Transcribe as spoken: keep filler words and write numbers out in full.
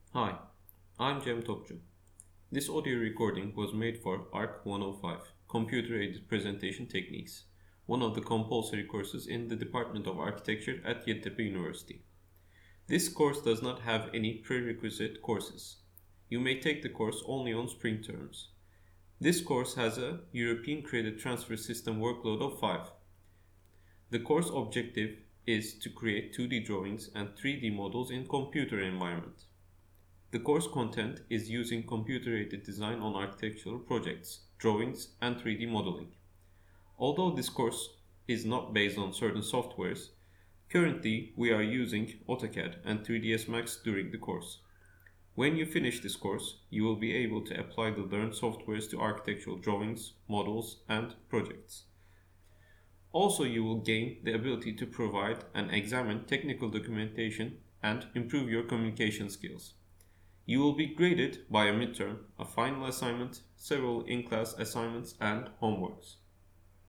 Hi, I'm Cem Topçu. This audio recording was made for ARC one oh five, Computer-Aided Presentation Techniques, one of the compulsory courses in the Department of Architecture at Yeditepe University. This course does not have any prerequisite courses. You may take the course only on spring terms. This course has a European Credit Transfer System workload of five. The course objective is to create two D drawings and three D models in computer environment. The course content is using computer-aided design on architectural projects, drawings, and three D modeling. Although this course is not based on certain softwares, currently we are using AutoCAD and three D S Max during the course. When you finish this course, you will be able to apply the learned softwares to architectural drawings, models, and projects. Also, you will gain the ability to provide and examine technical documentation and improve your communication skills. You will be graded by a midterm, a final assignment, several in-class assignments, and homeworks.